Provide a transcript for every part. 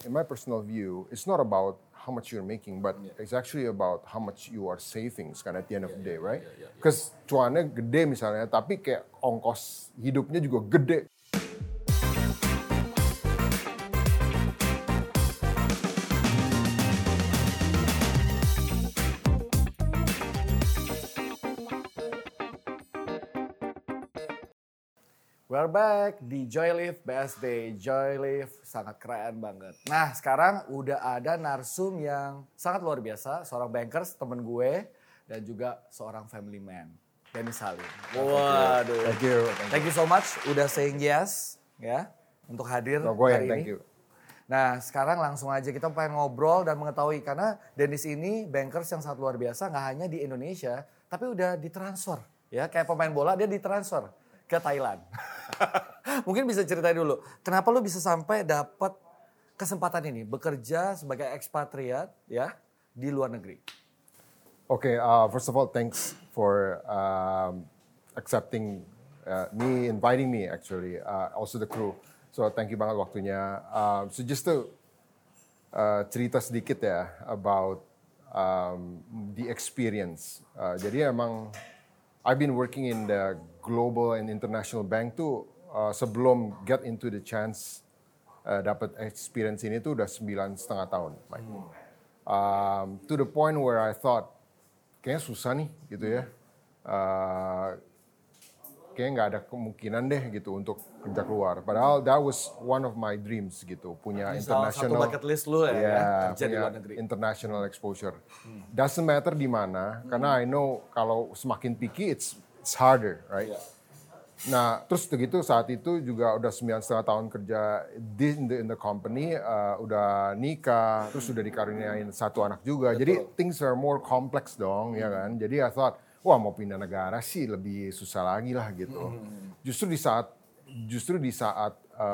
my personal view, it's not about how much you're making, but it's actually about how much you are saving kan at the end of the day, right? Because cuannya gede misalnya, tapi kayak ongkos hidupnya juga gede. We're back di Joylift BSD. Joylift sangat keren banget. Nah sekarang udah ada narsum yang sangat luar biasa. Seorang bankers, temen gue. Dan juga seorang family man. Dennis Salim. Waduh. Thank you so much udah saying yes ya untuk hadir hari ini. Thank you. Nah sekarang langsung aja kita pengen ngobrol dan mengetahui. Karena Dennis ini bankers yang sangat luar biasa. Gak hanya di Indonesia tapi udah ditransfer. Ya, kayak pemain bola dia ditransfer ke Thailand. Mungkin bisa ceritain dulu, kenapa lu bisa sampai dapat kesempatan ini bekerja sebagai ekspatriat ya di luar negeri? Okay, first of all, thanks for accepting inviting me actually, also the crew. So thank you banget waktunya. So just to cerita sedikit ya about the experience. Jadi emang I've been working in the global and international bank tuh sebelum get into the chance dapat experience ini tuh udah 9,5 tahun. To the point where I thought kayaknya susah nih gitu ya. Kayaknya nggak ada kemungkinan deh gitu untuk kerja keluar. Padahal that was one of my dreams gitu, punya international. Satu bucket list lu ya kerja di luar negeri. International exposure. Doesn't matter di mana, karena I know kalau semakin picky it's harder, right? Yeah. Nah, terus begitu saat itu juga udah 9,5 tahun kerja in the company, udah nikah, terus udah dikaruniain satu anak juga. Betul. Jadi things are more complex dong, ya kan? Jadi I thought, wah mau pindah negara sih lebih susah lagi lah gitu. Justru di saat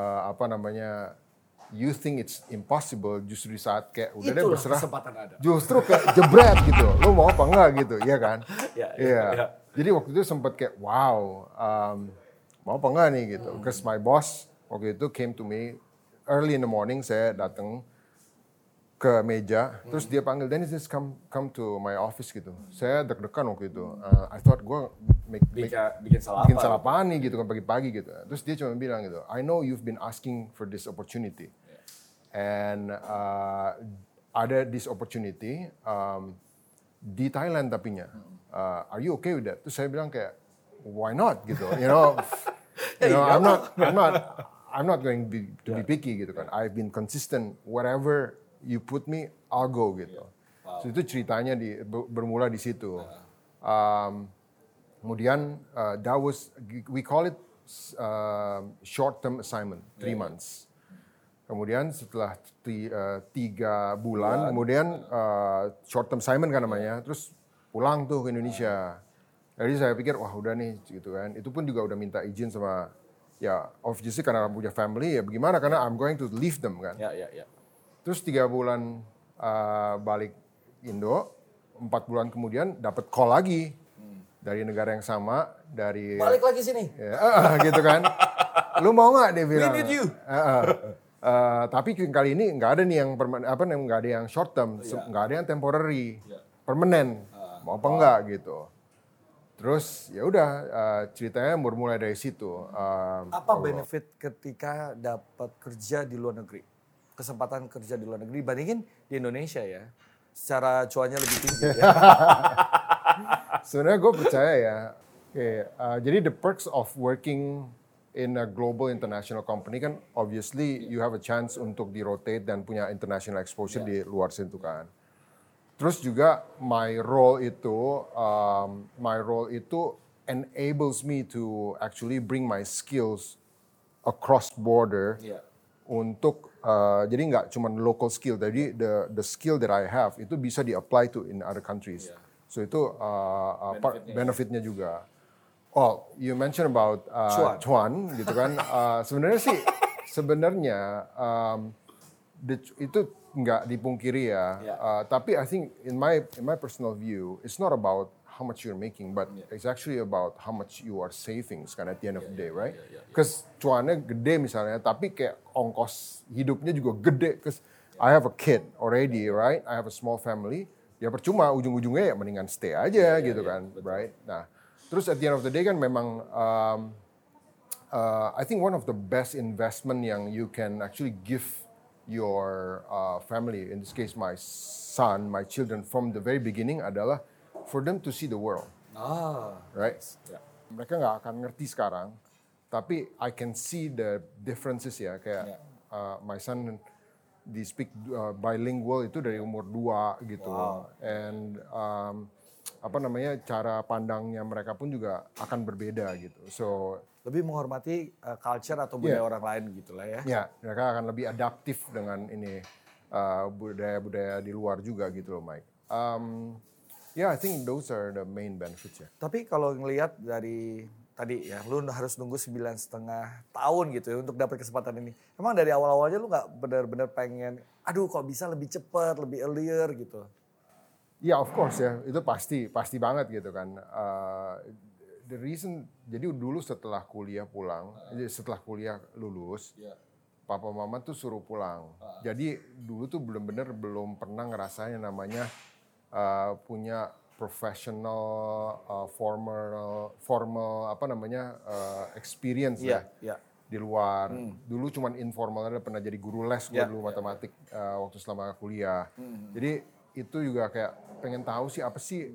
you think it's impossible, justru di saat kayak udah deh berserah. Kesempatan ada. Justru kayak jebret gitu. Lo mau apa enggak gitu, iya kan? Iya. Jadi waktu itu sempat kayak wow, mau apa enggak nih gitu. Because my boss waktu itu came to me early in the morning, saya datang ke meja, terus dia panggil, Dennis, just come to my office gitu. Saya deg-degan waktu itu. I thought gue bikin salah apa nih gitu kan pagi-pagi gitu. Terus dia cuma bilang gitu, I know you've been asking for this opportunity. And ada this opportunity di Thailand tapinya. Are you okay with that? Terus saya bilang kayak, why not gitu. I'm not going to be picky gitu kan. I've been consistent, whatever you put me, I'll go gitu. Wow. So itu ceritanya bermula di situ. Kemudian we call it short term assignment, 3 months. Kemudian setelah 3 bulan, kemudian short term assignment kan namanya, terus pulang tuh ke Indonesia. Jadi saya pikir wah udah nih gitu kan. Itu pun juga udah minta izin sama ya obviously karena punya family ya bagaimana karena I'm going to leave them kan. Ya. Terus 3 bulan balik Indo, 4 bulan kemudian dapat call lagi dari negara yang sama dari balik lagi sini. Ya, gitu kan. Lu mau nggak dia bilang? We need you. Tapi kali ini nggak ada nih yang nggak ada yang short term, nggak ada yang temporary, permanen. Mau apa enggak gitu. Terus ya udah ceritanya bermulai dari situ. Apa benefit ketika dapat kerja di luar negeri? Kesempatan kerja di luar negeri dibandingin di Indonesia ya. Secara cuannya lebih tinggi ya. Sebenarnya gue percaya ya. Jadi the perks of working in a global international company kan obviously you have a chance untuk di-rotate dan punya international exposure di luar situ kan. Terus juga my role itu enables me to actually bring my skills across border untuk jadi nggak cuma local skill, jadi the skill that I have itu bisa di-apply to in other countries. So itu benefitnya juga. Oh, you mentioned about cuan gitu kan. Sebenarnya itu nggak dipungkiri ya. Tapi I think in my personal view, it's not about how much you're making, but it's actually about how much you are saving kan at the end of the day, right? Because cuannya gede misalnya, tapi kayak ongkos hidupnya juga gede. Because I have a kid already, right? I have a small family. Ya percuma, ujung-ujungnya ya mendingan stay aja gitu kan, right? Nah, terus at the end of the day kan memang I think one of the best investment yang you can actually give your family, in this case my son, my children from the very beginning adalah for them to see the world, right? Mereka nggak akan ngerti sekarang, tapi I can see the differences ya, kayak my son di speak bilingual itu dari umur 2 gitu, and apa namanya cara pandangnya mereka pun juga akan berbeda gitu, so Lebih menghormati culture atau budaya orang lain gitu lah ya. ya mereka akan lebih adaptif dengan ini budaya-budaya di luar juga gitu loh, Mike. I think those are the main benefits ya. Tapi kalau ngelihat dari tadi ya, lu harus nunggu 9,5 tahun gitu ya untuk dapat kesempatan ini. Emang dari awal-awalnya lu nggak benar-benar pengen, aduh kok bisa lebih cepat, lebih earlier gitu? Ya, of course ya, itu pasti banget gitu kan. The reason, jadi dulu setelah kuliah pulang, setelah kuliah lulus, papa mama tuh suruh pulang. Jadi dulu tuh belum pernah ngerasain namanya punya professional, formal apa namanya experience di luar. Dulu cuman informal, pernah jadi guru les gue dulu matematik waktu selama kuliah. Jadi itu juga kayak pengen tahu sih apa sih,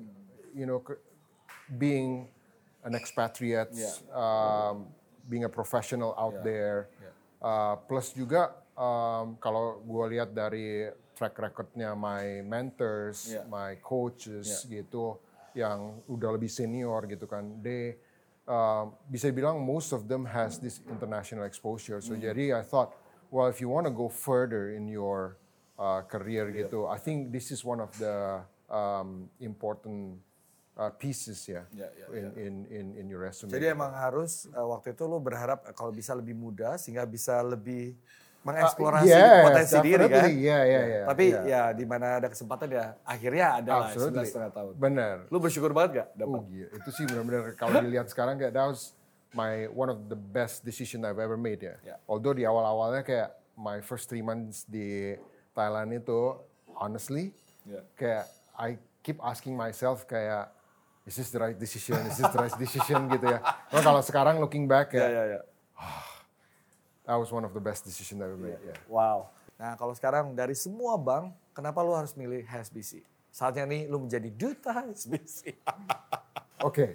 being an expatriate, being a professional out there. Plus juga kalau gue lihat dari track recordnya my mentors, my coaches gitu, yang udah lebih senior gitu kan, bisa bilang most of them has this international exposure. So jadi I thought, well if you want to go further in your career gitu, I think this is one of the important pieces in your resume. Jadi emang harus waktu itu lu berharap kalau bisa lebih muda sehingga bisa lebih mengeksplorasi potensi diri kan. Tapi ya di mana ada kesempatan ya akhirnya ada lah 9,5 tahun. Benar. Lu bersyukur banget gak dapat? Itu sih benar-benar kalau dilihat sekarang kayak that was one of the best decision I've ever made ya. Although di awal-awalnya kayak my first 3 months di Thailand itu honestly kayak I keep asking myself kayak is this the right decision? Is this the right decision gitu ya. Nah, kalau sekarang looking back ya, that was one of the best decision I ever made. Wow. Nah kalau sekarang dari semua bank, kenapa lu harus milih HSBC? Saatnya nih lu menjadi duta HSBC. Okay.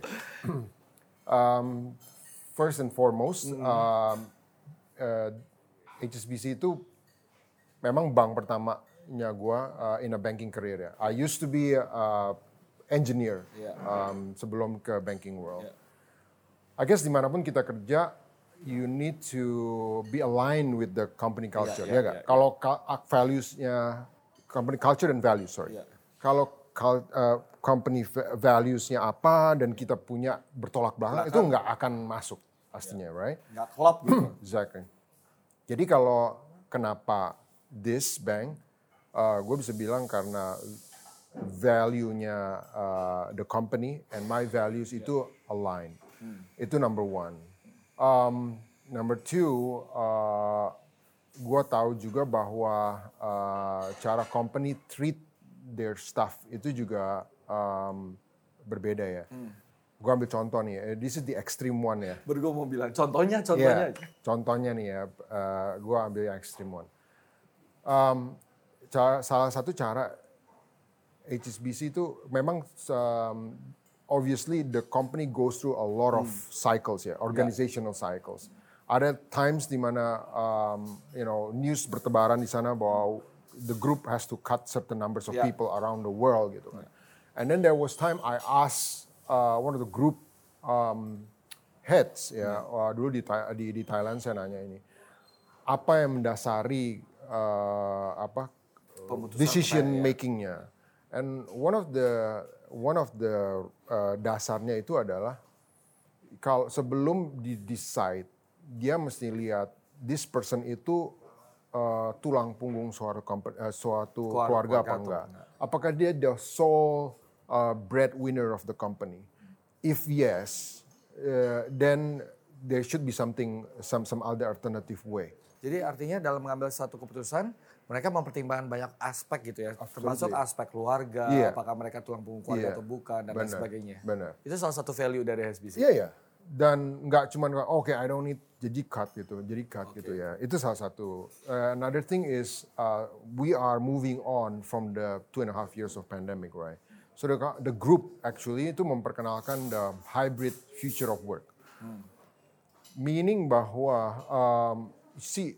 First and foremost, HSBC itu memang bank pertamanya gue in a banking career ya. I used to be engineer sebelum ke banking world. I guess dimanapun kita kerja, you need to be aligned with the company culture, ya nggak? Kalau values-nya, company culture and values, sorry. Kalau company values-nya apa dan kita punya bertolak belakang, itu nggak akan masuk pastinya, right? Nggak klop gitu. Exactly. Jadi kalau kenapa this bank, gue bisa bilang karena value-nya the company and my values itu align. Itu number one. Number two, gue tahu juga bahwa cara company treat their staff itu juga berbeda ya. Gue ambil contoh nih, this is the extreme one ya. Gue mau bilang, contohnya. Contohnya nih ya, gue ambil yang extreme one. Salah satu cara HSBC itu memang obviously the company goes through a lot of cycles ya, organizational cycles. Ada times di mana news bertebaran di sana bahwa the group has to cut certain numbers of people around the world gitu kan. And then there was time I asked one of the group heads ya, dulu di Thailand saya nanya ini, apa yang mendasari decision makingnya? And one of the dasarnya itu adalah kalau sebelum decide dia mesti lihat this person itu tulang punggung suatu keluarga apa enggak. Apakah dia the sole breadwinner of the company? If yes, then there should be some other alternative way. Jadi artinya dalam mengambil satu keputusan, mereka mempertimbangkan banyak aspek gitu ya, Absolutely. termasuk aspek keluarga, Iya. apakah mereka tulang punggung keluarga Iya. atau bukan dan lain Benar, sebagainya. benar. Itu salah satu value dari HSBC. Iya ya. Dan nggak cuma oke, I don't need jadi cut gitu ya. Itu salah satu. Another thing is we are moving on from the 2.5 years of pandemic, right? So the group actually itu memperkenalkan the hybrid future of work. Meaning bahwa see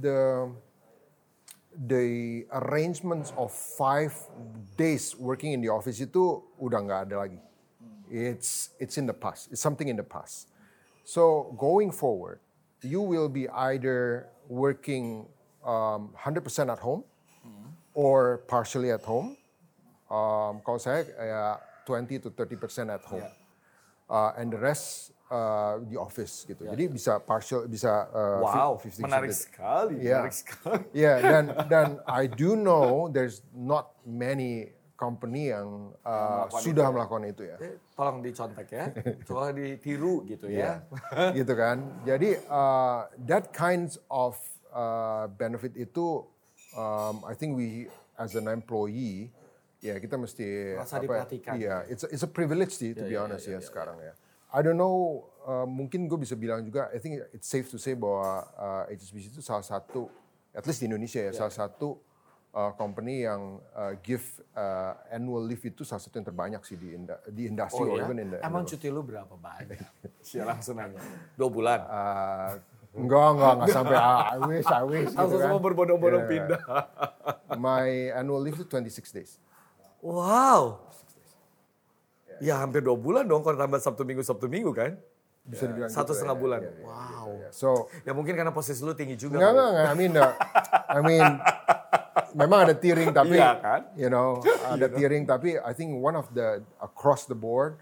the arrangements of 5 days working in the office itu udah nggak ada lagi. It's in the past. It's something in the past. So going forward, you will be either working 100% at home or partially at home. Kalau saya 20 to 30% at home, and the rest di office gitu. Jadi bisa partial, bisa Wow, 50-50. menarik sekali, Yeah. menarik sekali. Yeah, dan I do know there's not many company yang sudah melakukan itu ya. Tolong dicontek ya, coba ditiru gitu ya. Gitu kan. Jadi that kinds of benefit itu I think we as an employee ya kita mesti Merasa diperhatikan. Iya, it's a privilege sih to be honest ya sekarang ya. I don't know, mungkin gue bisa bilang juga, I think it's safe to say bahwa HSBC itu salah satu, at least di Indonesia ya, salah satu company yang give annual leave itu salah satu yang terbanyak sih di industri. Oh ya? Or even in the, Emang cuti lu berapa banyak? Siapa langsung nanya. 2 bulan? Enggak sampai I wish gitu Langsung kan. semua berbondong-bondong Yeah. pindah. My annual leave itu 26 days. Wow. Ya hampir 2 bulan dong kalau tambah Sabtu Minggu kan? Bisa dibilang 1,5 gitu, bulan. ya. Wow. So, Ya mungkin karena posisi lu tinggi juga. enggak. I mean, memang ada tiering tapi, Iya kan? you know, ada tiering tapi I think one of the across the board,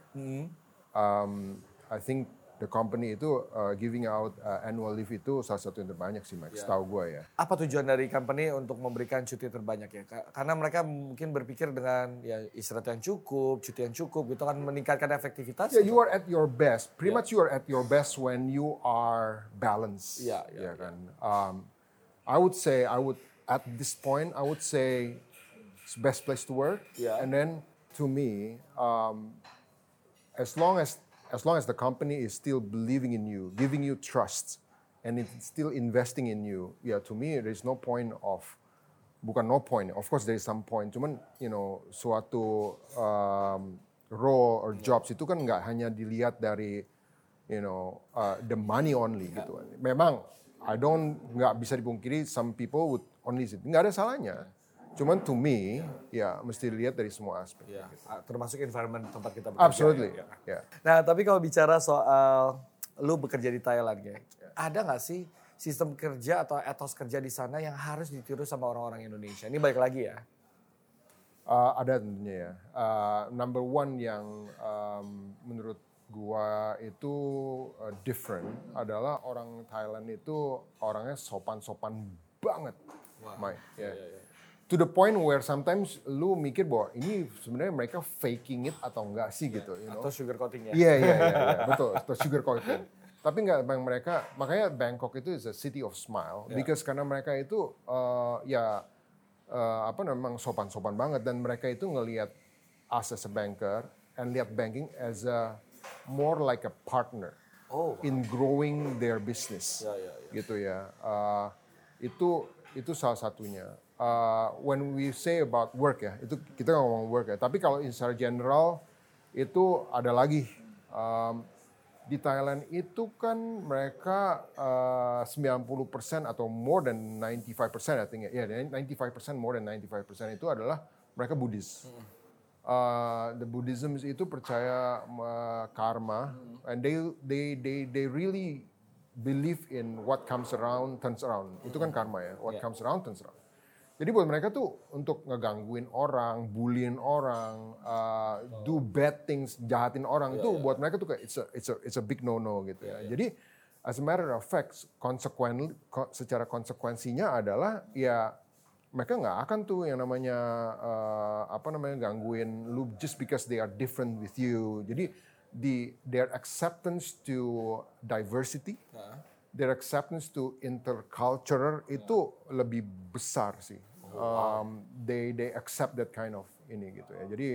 I think the company itu giving out annual leave itu salah satu yang terbanyak sih, Max. Tahu gue ya. Apa tujuan dari company untuk memberikan cuti terbanyak ya? Karena mereka mungkin berpikir dengan ya istirahat yang cukup, cuti yang cukup gitu kan meningkatkan efektivitas. Yeah, you are at your best. Pretty much you are at your best when you are balanced. Yeah. Kan. I would at this point I would say it's best place to work. Yeah. And then to me, as long as the company is still believing in you, giving you trust, and it's still investing in you, yeah, to me there is no point of, bukan no point, of course there is some point, cuman you know suatu role or jobs itu kan nggak hanya dilihat dari you know the money only gitu. Memang nggak bisa dipungkiri some people would only sit, nggak ada salahnya. Cuman to me, ya mesti dilihat dari semua aspek. Ya, termasuk environment tempat kita bekerja. Absolutely. Ya. Yeah. Nah, tapi kalau bicara soal lu bekerja di Thailand, ya, ada nggak sih sistem kerja atau etos kerja di sana yang harus ditiru sama orang-orang Indonesia? Ini balik lagi ya. Ada tentunya ya. Number one yang menurut gua itu different adalah orang Thailand itu orangnya sopan-sopan banget, Mike. Yeah. To the point where sometimes lu mikir bahwa ini sebenarnya mereka faking it atau enggak sih gitu, you know? Atau sugar coating ya. Iya, betul, atau sugar coating. Tapi enggak, mereka, makanya Bangkok itu is a city of smile, because karena mereka itu memang sopan-sopan banget, dan mereka itu ngelihat us as a banker and lihat banking as a more like a partner in growing their business, gitu ya. Itu salah satunya. When we say about work ya, itu kita ngomong work ya. Tapi kalau secara general itu ada lagi di Thailand itu kan mereka 90% atau more than 95% I think ya, 95% more than 95% itu adalah mereka Buddhis. The Buddhism itu percaya karma, and they really believe in what comes around turns around. Itu kan karma ya, what comes around turns around. Jadi buat mereka tuh untuk ngegangguin orang, bullyin orang, do bad things, jahatin orang itu buat mereka tuh kayak it's a big no gitu ya. Jadi as a matter of fact, secara konsekuensinya adalah ya mereka nggak akan tuh yang namanya gangguin lu just because they are different with you. Jadi their acceptance to diversity, their acceptance to interculture itu lebih besar sih. They accept that kind of ini gitu ya. Jadi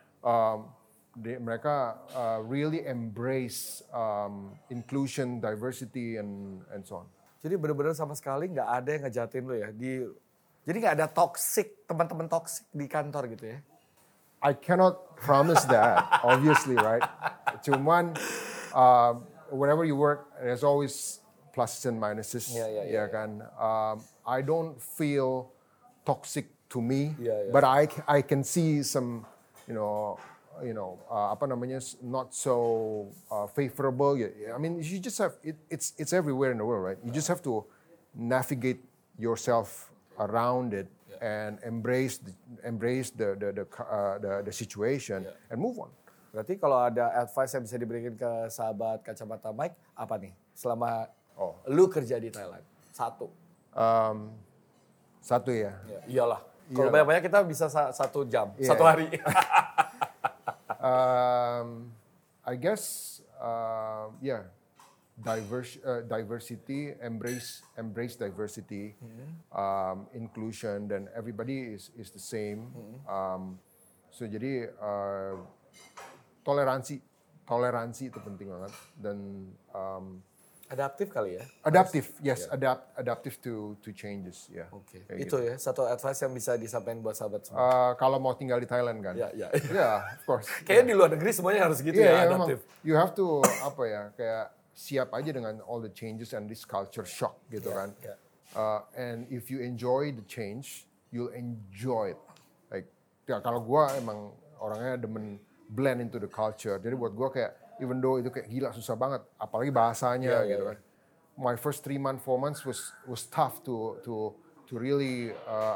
mereka really embrace inclusion, diversity, and so on. Jadi benar-benar sama sekali nggak ada yang ngejatin lo ya. Jadi nggak ada toxic, teman-teman toxic di kantor gitu ya. I cannot promise that, obviously, right? Cuman wherever you work, there's always pluses and minuses, ya kan. I don't feel toxic to me, but I can see some, apa namanya, not so favorable. I mean, you just have it's everywhere in the world, right? You just have to navigate yourself around it and embrace the situation and move on. Berarti kalau ada advice yang bisa diberikan ke sahabat kacamata Mike, apa nih? Selama lu kerja di Thailand, satu ya. Iyalah. Kalau banyak-banyak kita bisa 1 jam, 1 hari. I guess, diversity, embrace diversity, inclusion, dan everybody is the same. So jadi toleransi itu penting banget, dan adaptif kali ya. Adaptive to changes, ya. Oke. Itu gitu. Ya satu advice yang bisa disampaikan buat sahabat semua. Kalau mau tinggal di Thailand kan. Ya, of course. Kayaknya di luar negeri semuanya harus gitu ya, adaptif. You have to kayak siap aja dengan all the changes and this culture shock gitu kan. And if you enjoy the change, you'll enjoy it. Like kalau gue emang orangnya demen blend into the culture. Jadi buat gue kayak even though itu kayak gila susah banget, apalagi bahasanya gitu kan. My first 3 months, 4 months was tough to really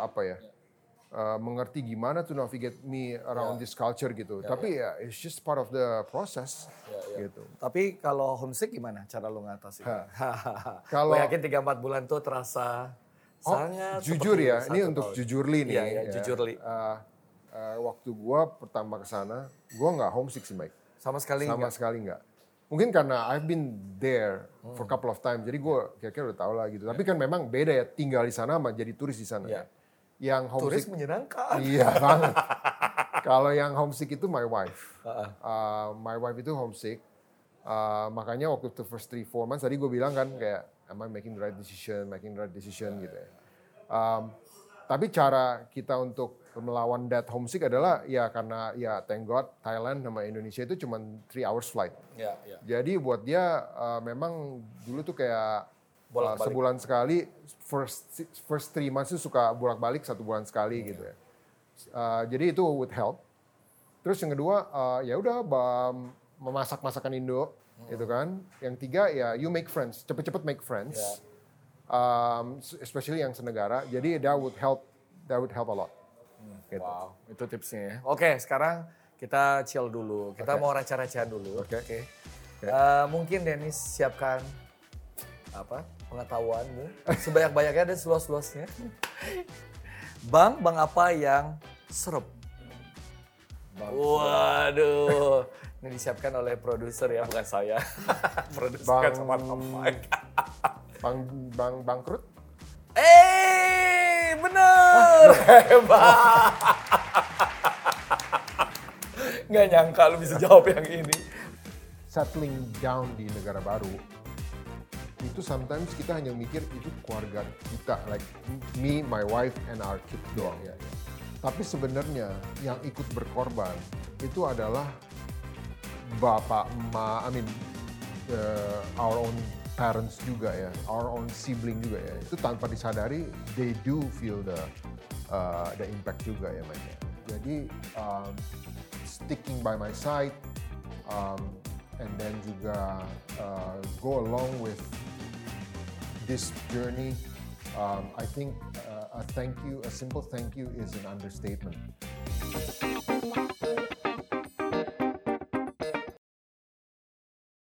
mengerti gimana to navigate me around this culture gitu. Tapi it's just part of the process gitu. Tapi kalau homesick gimana cara lo ngatasin? Kalau yakin 3-4 bulan tuh terasa sangat jujur ya, ini untuk jujurly nih. Iya, jujurly. Waktu gua pertama ke sana, gua nggak homesick sih, Mike. Sama sekali nggak. Mungkin karena I've been there for a couple of times, jadi gue kira-kira udah tahu lah gitu. Tapi kan memang beda ya tinggal di sana sama jadi turis di sana. Yang homesick, turis menyenangkan. Iya banget. Kalau yang homesick itu my wife. My wife itu homesick. Makanya waktu the first 3-4 months tadi gue bilang kan kayak am I making the right decision gitu ya. Tapi cara kita untuk melawan that homesick adalah ya karena ya thank God Thailand sama Indonesia itu cuma 3 hours flight. Jadi buat dia memang dulu tuh kayak sebulan sekali, first 3 months itu suka bolak-balik 1 bulan sekali gitu ya. Jadi itu would help. Terus yang kedua ya udah memasak masakan Indo gitu kan. Yang 3 ya you make friends, cepet-cepet make friends. Especially yang senegara. Jadi that would help a lot. Gitu. Wow, itu tipsnya ya. Oke, sekarang kita chill dulu. Kita mau raca-racaan dulu. Oke. Mungkin Dennis siapkan pengetahuanmu sebanyak-banyaknya dan seluas-luasnya. Bang apa yang serep? Waduh, ini disiapkan oleh produser ya, bukan saya. Produser kan sama Mike. Bang bangkrut? Bener! Hebat! Nggak nyangka lu bisa jawab yang ini. Settling down di negara baru, itu sometimes kita hanya mikir itu keluarga kita, like me, my wife, and our kid doang. Tapi sebenarnya yang ikut berkorban itu adalah bapak, emak, our own parents juga ya, our own sibling juga ya. Itu tanpa disadari, they do feel the impact juga ya, Mike. Jadi sticking by my side, and then juga go along with this journey. I think a simple thank you is an understatement.